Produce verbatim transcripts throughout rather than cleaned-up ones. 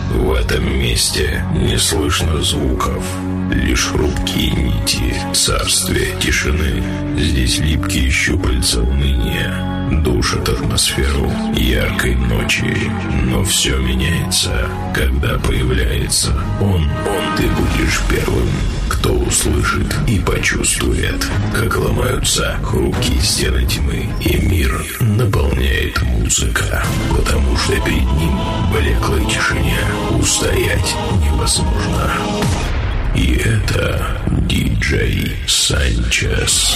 В этом месте не слышно звуков, лишь хрупкие нити царствия тишины. Здесь липкие щупальца уныния душат атмосферу яркой ночи. Но все меняется, когда появляется он. Он ты будешь первым, кто услышит и почувствует, как ломаются хрупкие стены тьмы, и мир наполняет музыка, потому что перед ним в блеклой тишине устоять невозможно. И это диджей Санчес.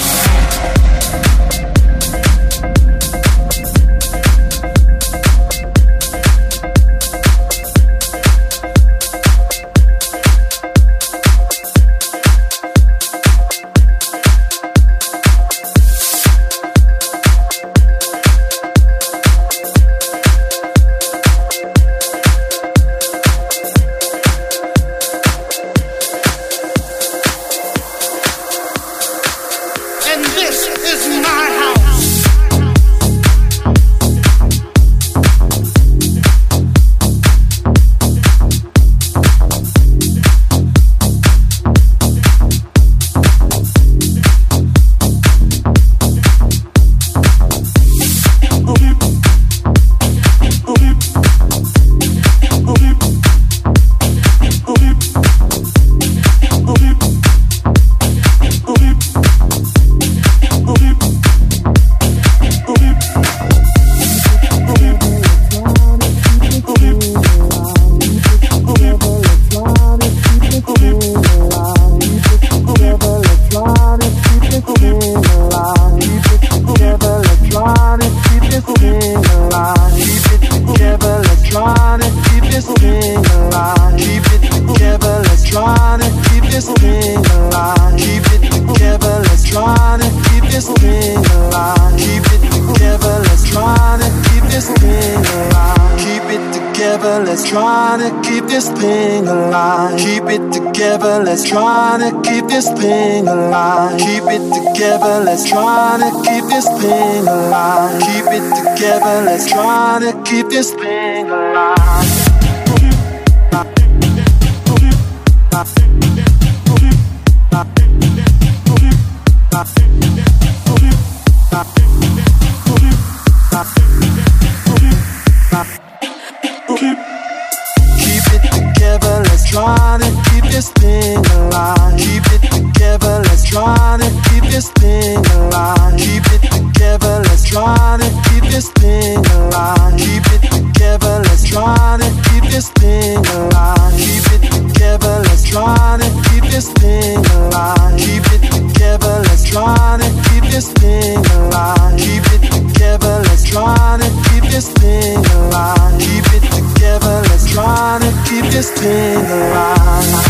Let's try to keep this thing alive. Keep it together, let's try to keep this thing alive. Keep it together, let's try to keep this thing alive. Keep it together, let's try to keep this thing alive. Try to keep this thing alive. Keep it together, let's try to keep this thing alive. Keep it together, let's try to keep this thing alive. Keep it together, let's try to keep this thing alive. Keep it together, let's try to keep this thing alive. Keep it together, let's try to keep this thing alive. Keep it together, let's try to keep this thing alive. Keep it together, let's try to keep this thing alive.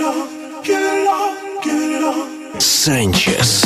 Санчес.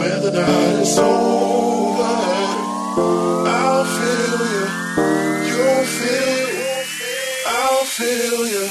when the night is over. I'll feel you, you'll feel, I'll feel you.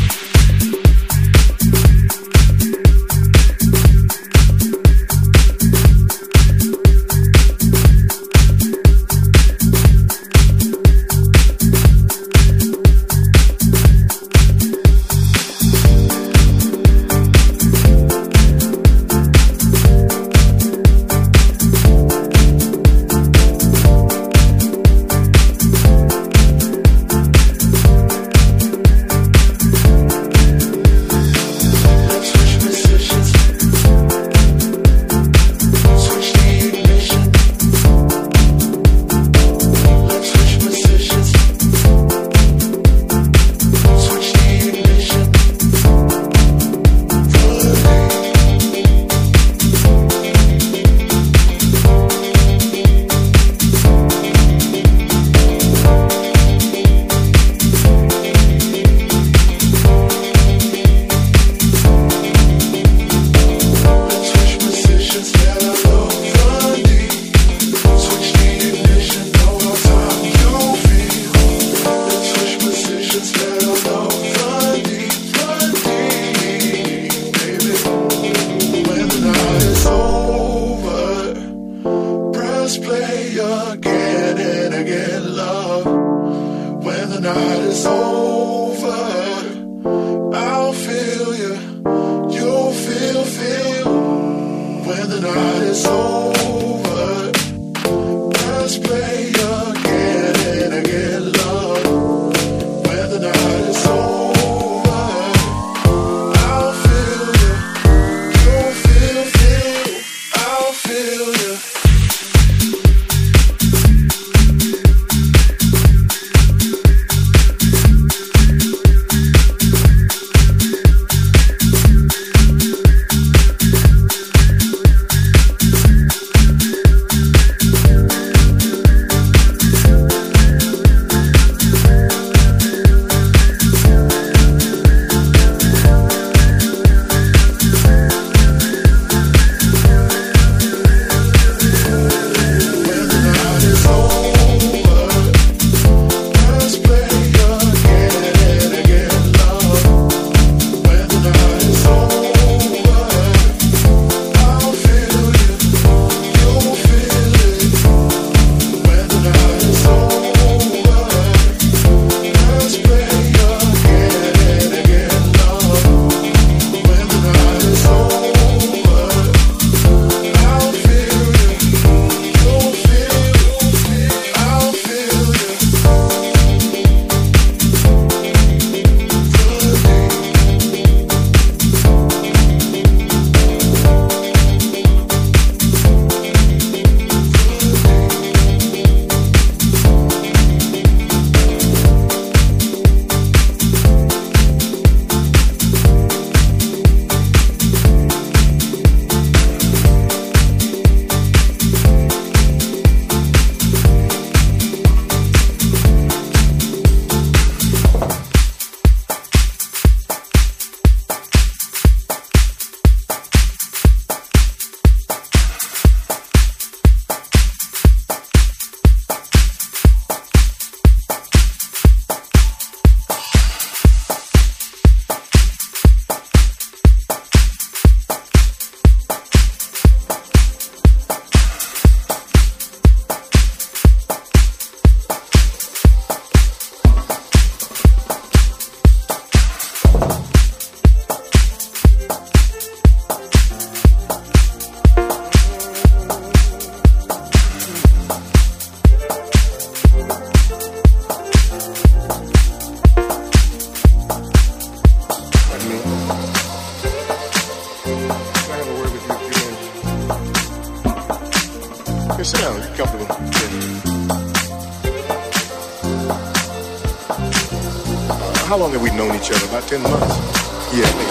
How long have we known each other? About ten months? Yeah, I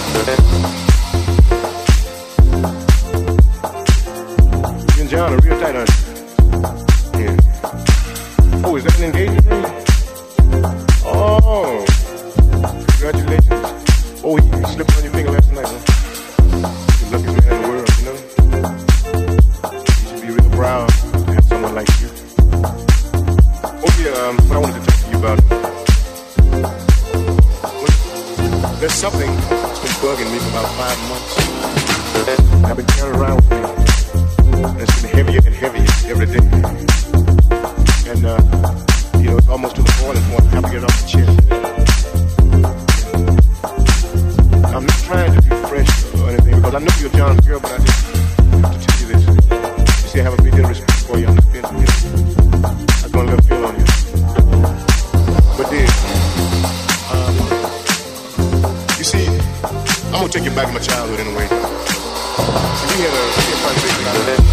think. You and John are real tight, aren't you? Yeah. Oh, is that an engagement ring? Oh, congratulations. Oh, you slipped on your finger last night, huh? You're the luckiest man in the world, you know? months. And I've been carrying around with me. And it's been heavier and heavier every day. And, uh, you know, it's almost to the boiling point. I have to get it off the chest. I'm not trying to be fresh or anything because I know you're John's girl, but I just have to tell you this. You see, I have a big deal of respect for you. I'm not being, you know, I'm going to let feel on you. But then, um, you see, I'm going to take you back to my childhood in a way. So we had a, we had a conversation about that.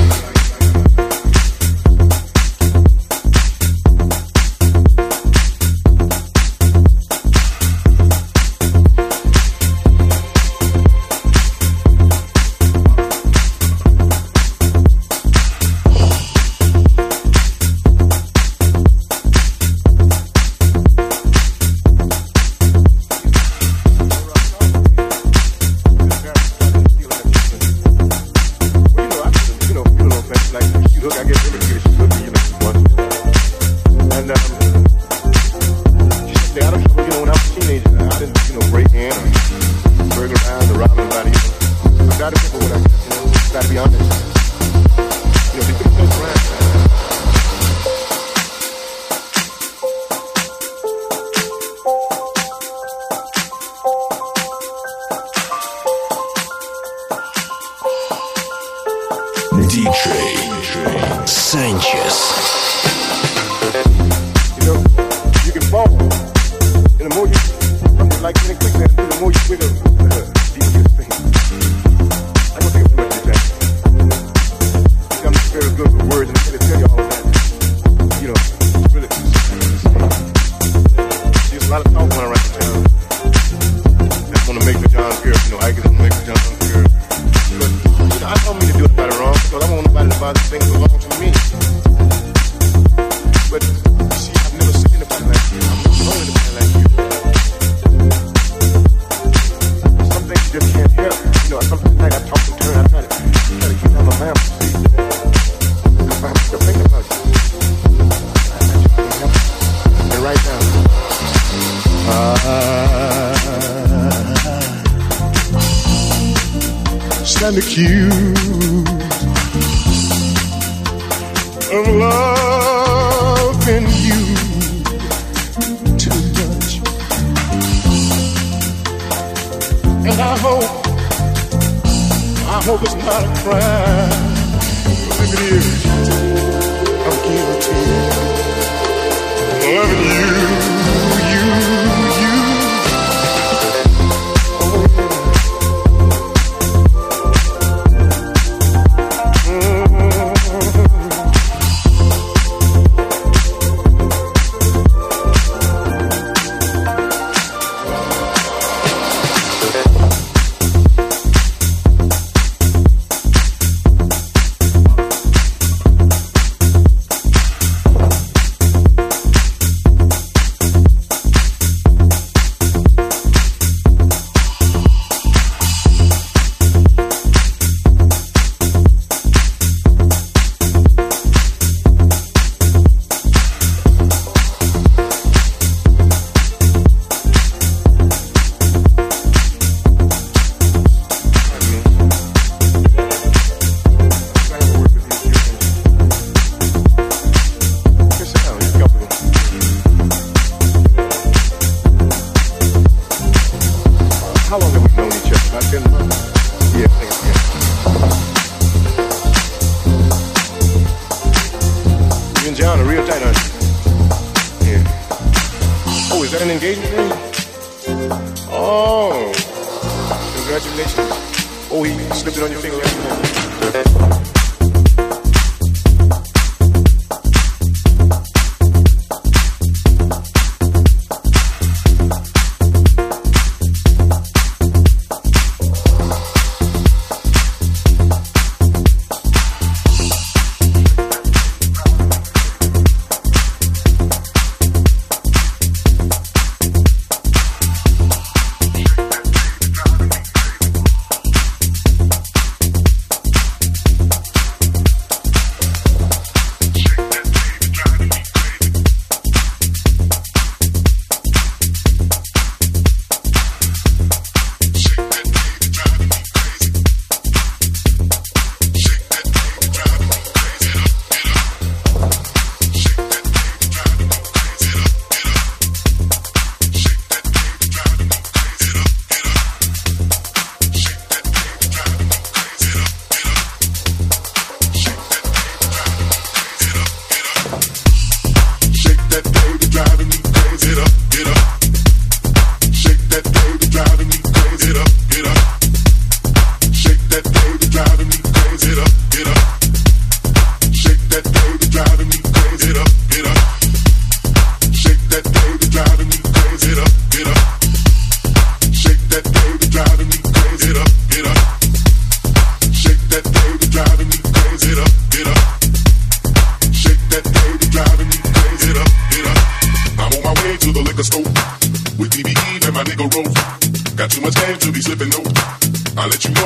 Stand accused of loving you too much, and I hope, I hope it's not a crime. If it is, I'm guilty of loving you, you, you.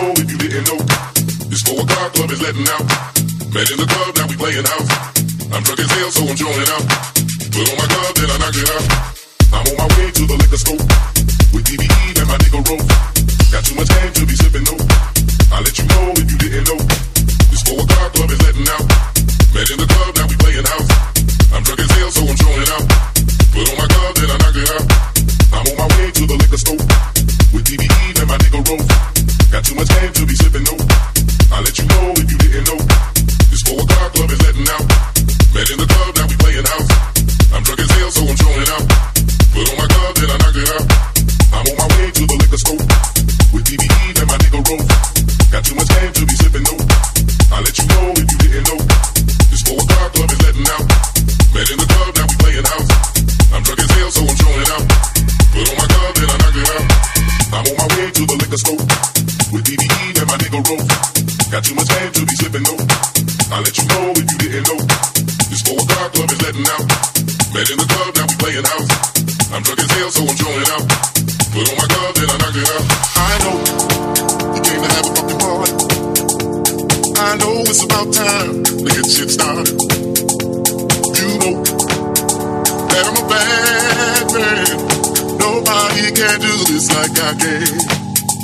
know if you didn't know. This four o'clock club is letting out. Met in the club, now we playing house. I'm drunk as hell, so I'm showing out. Put on my glove, then I knock it out. I'm on my way to the liquor store with D B E and my nigga Rose. Got too much game to be sipping, no. I'll let you know if you didn't know. This four o'clock club is letting out. Met in the club, now we playing house. I'm drunk as hell, so I'm showing out. Put on my glove, then I knock it out. I'm on my way to the liquor store with D B E and my nigga Rose. Got too much game to be sipping, no. I'll let you know if you didn't know. This four o'clock club is letting out. Met in the club, now we playing house. I'm drunk as hell, so I'm showing out. Put on my glove, then I knock it out. I'm on my way to the liquor store with D B E and my nigga Rose. Got too much game to be sipping, no. I'll let you know if you didn't know. This four o'clock club is letting out. Met in the club, now we playing house. I'm drunk as hell, so I'm showing out. Put on my glove, then I knock it out. I'm on my way to the liquor store with D B E and my nigga Rose. Got too much game to be sipping, no. I'll let you know if you didn't know. This four o'clock club is letting out. Met in the club, now we playing house. I'm drunk as hell, so I'm showing out. Put on my glove, then I knock it out. I know you came to have a fucking party. I know it's about time to get shit started. You know that I'm a bad man. Nobody can do this like I can.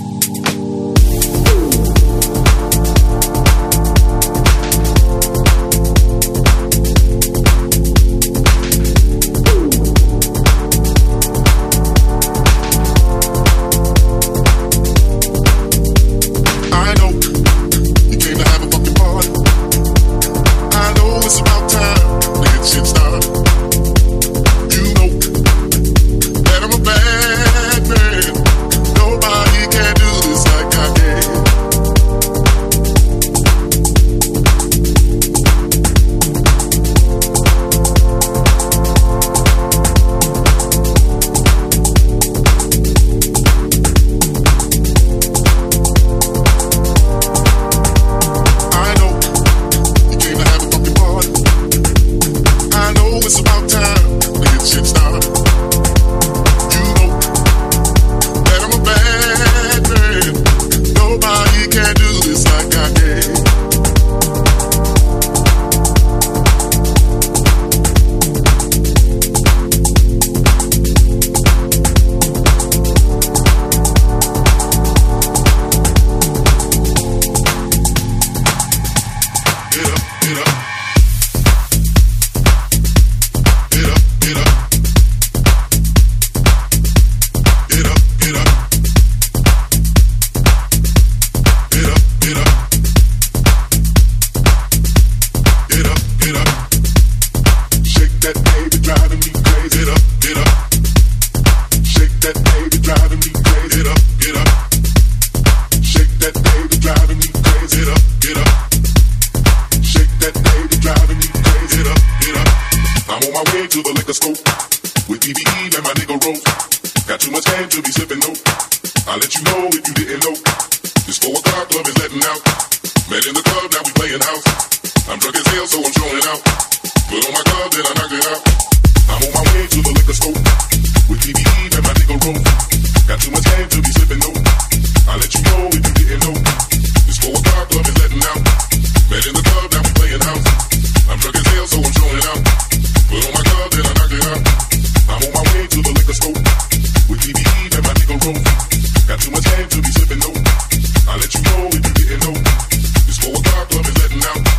Got too much game to be sipping, no. I'll let you know if you didn't know. This four o'clock club is letting out.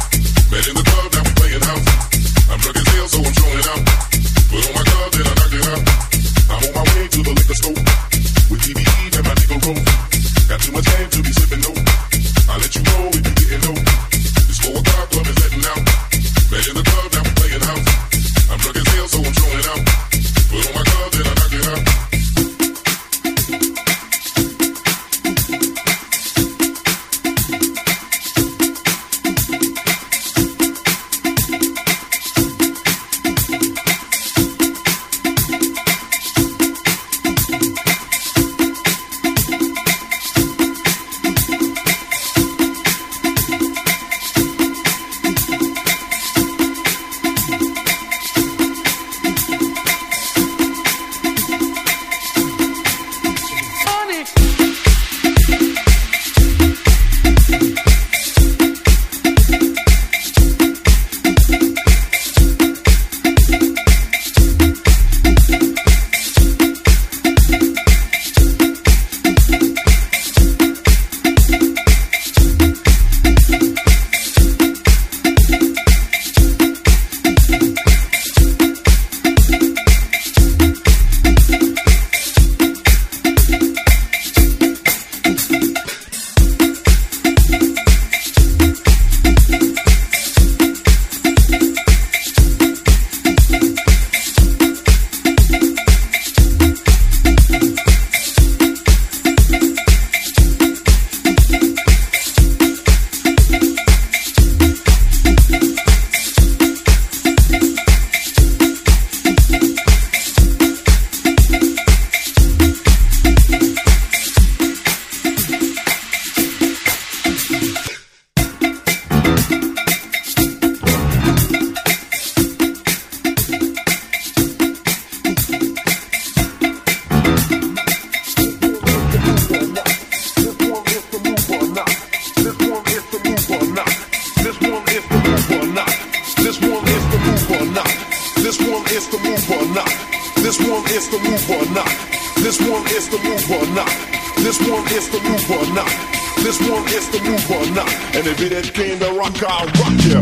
is the move or not. This one is the move or not. This one is the move or not. This one is the move or not. And if it ain't came to rock, I'll rock ya.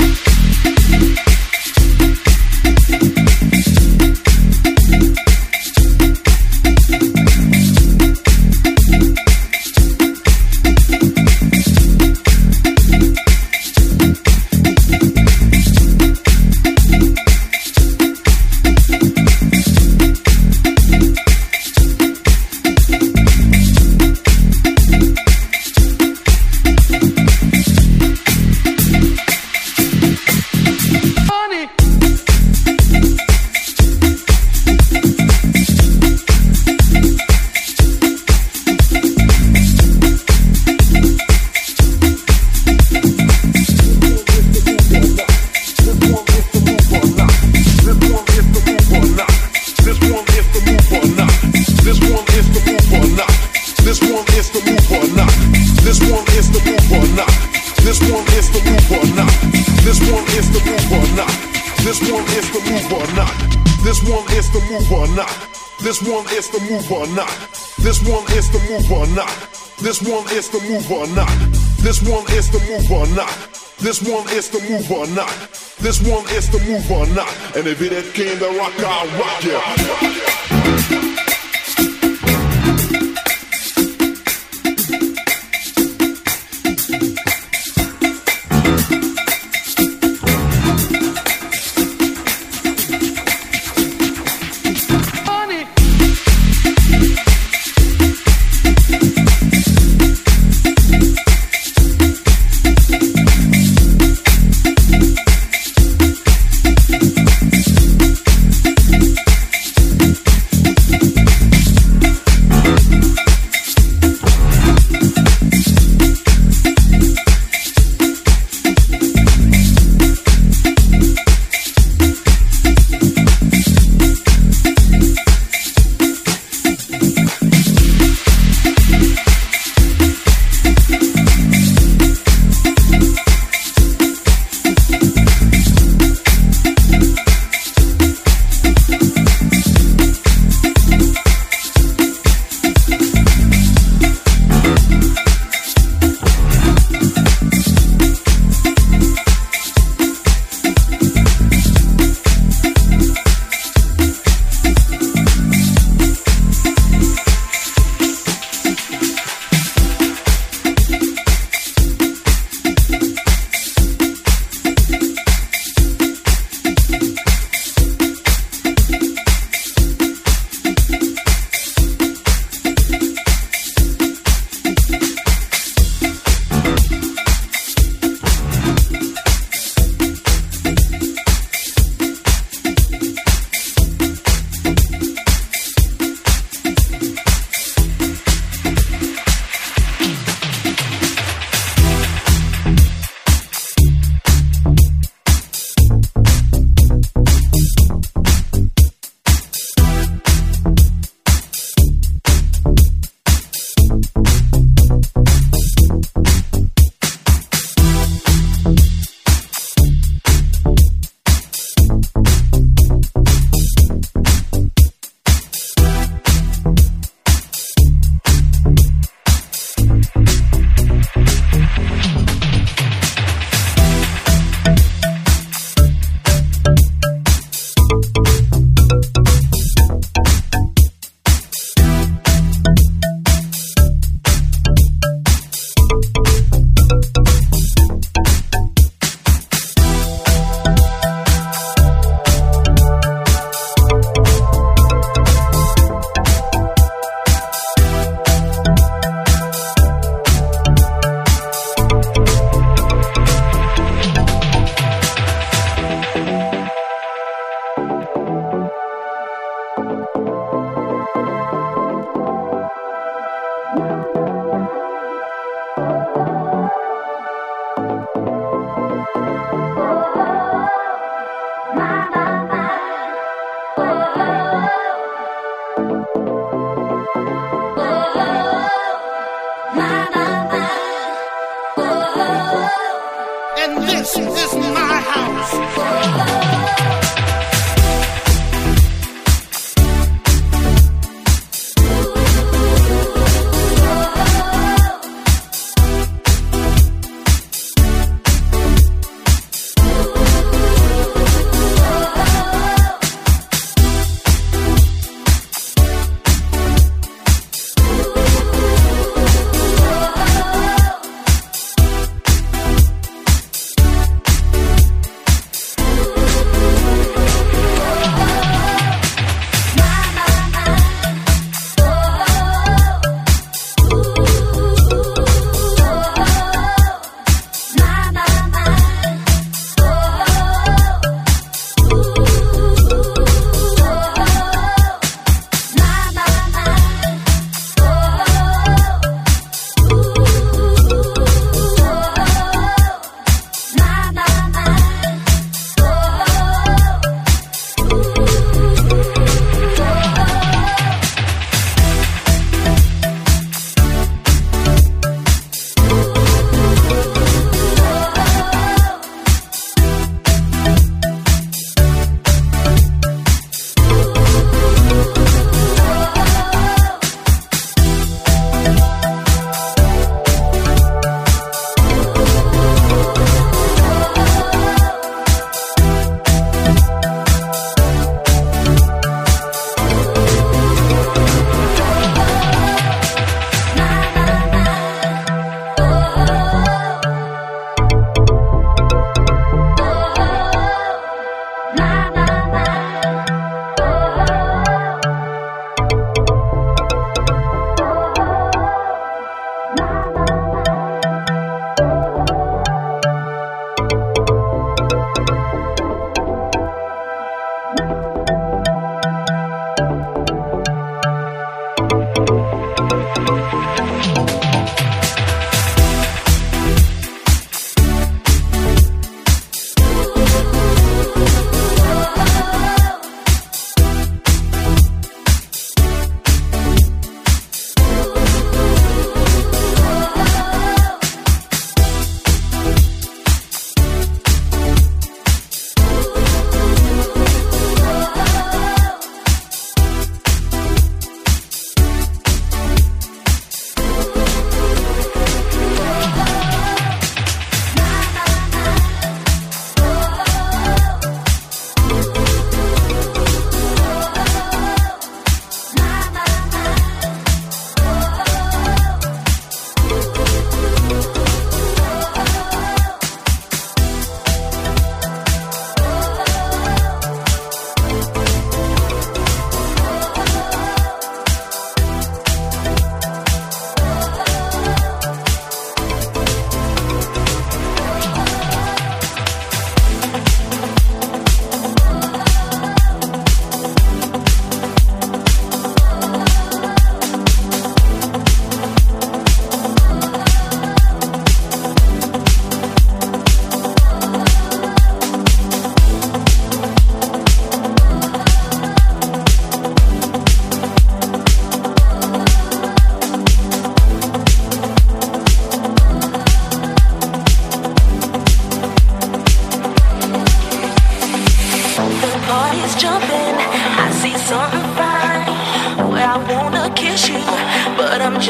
This one is the move or not. This one is the move or not. This one is the move or not. This one is the move or not. This one is the move or not. This one is the move or not. And if it ain't came to rock, I'll rock ya.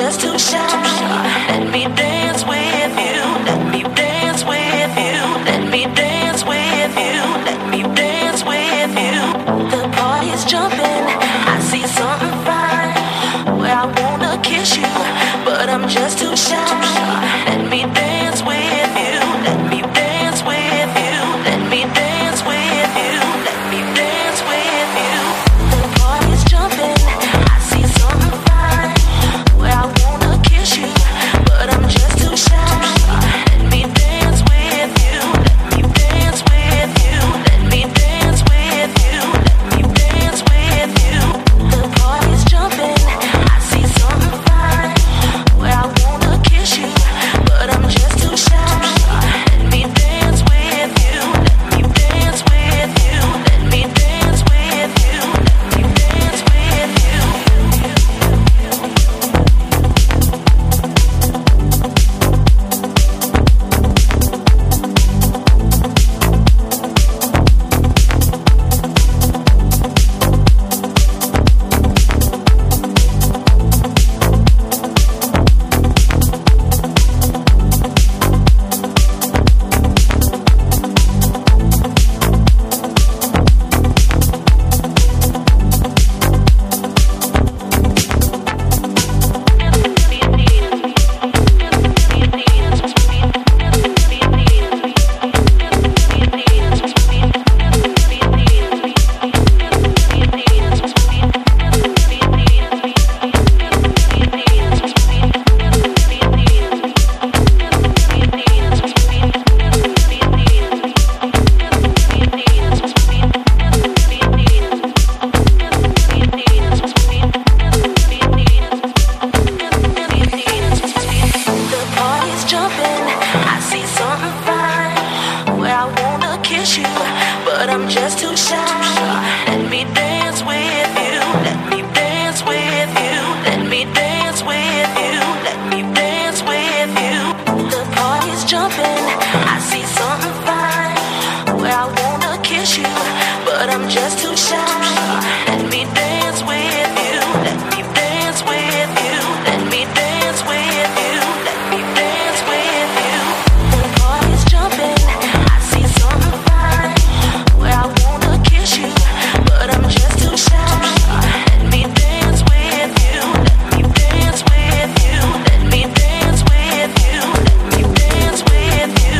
just too shy. Let me dance with you. Let me dance with you. Let me dance with you. Let me dance with you. The party's jumping. I see something fine where I wanna kiss you, but I'm just too shy. Let me dance with you. Let me dance with you. Let me dance with you. Let me dance with you. The party's jumping. I see something fine where I wanna kiss you, but I'm just too shy. Let me dance with you. Let me dance with you. Let me dance with you. Let me dance with you. The party's jumping. I see something fine where I wanna kiss you, but I'm just too shy. Let me dance with you. Let me dance with you. Let me dance with you. Let me dance with you. The party's jumping. I see something fine where I wanna kiss you, but I'm just too shy. Let me dance with you. Let me dance with you. Let me dance with you. Let me dance with you. The party's jumping. I see something fine where I wanna kiss you, but I'm just too shy. Let me dance with you. Let me dance with you. Let me dance with you. Let me dance with you. The party's jumping. I see something fine where I wanna kiss you, but I'm just too shy. Let me dance with you. Let me dance with you. Let me dance with you. Let me dance with you.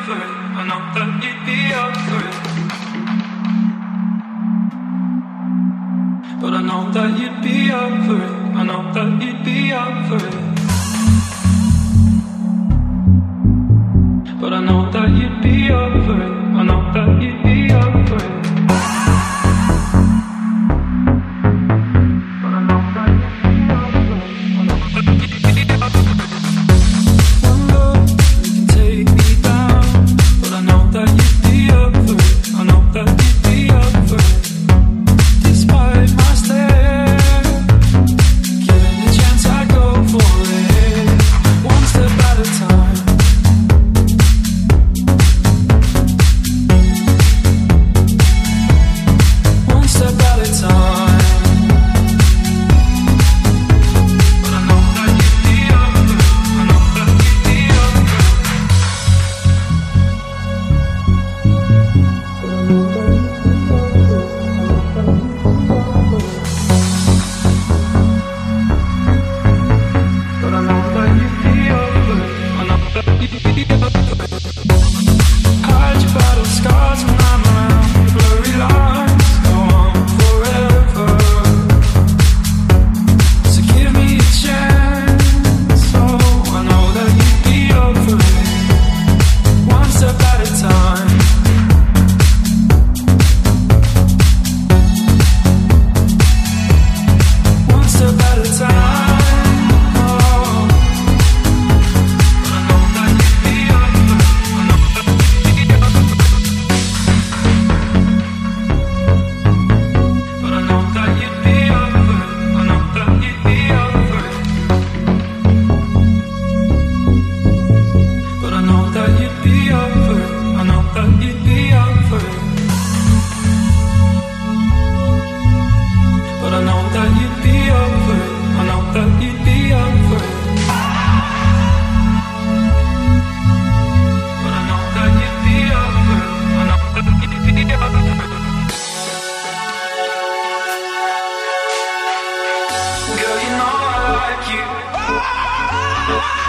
for it. I know that you'd be up for it. But I know that you'd be up for it. I know that you'd be up for it. But I know that you'd be up for it. I know that you'd be up for it. But I know that you'd be up for it. I know that you'd be up for it. One look can take me down. But I know that you'd be up for it. I know that you'd be up for it. Despite my stare, given the chance I go for it. One step at a time. One step at a time. But I know that you'd be up for it. I know that you'd be up for it. But I know that you'd be up for it. I know that you'd be up for it. Hide your battle scars when I'm around. Blurry lines go on forever. So give me a chance. Oh, I know that you'd be up for it. One step at a time. One step at a time. Oh, but I know that you'd be up for it. I know that you'd be up for it. But I know that you'd be up for it. I know that you'd be up for it. But I know that you'd be up for it. I know that you'd be up for it. But I know that you'd be up for it. I know that you'd be up for it. But I know that you'd be up for it. I know that you'd be up for it. Girl, you know I like you.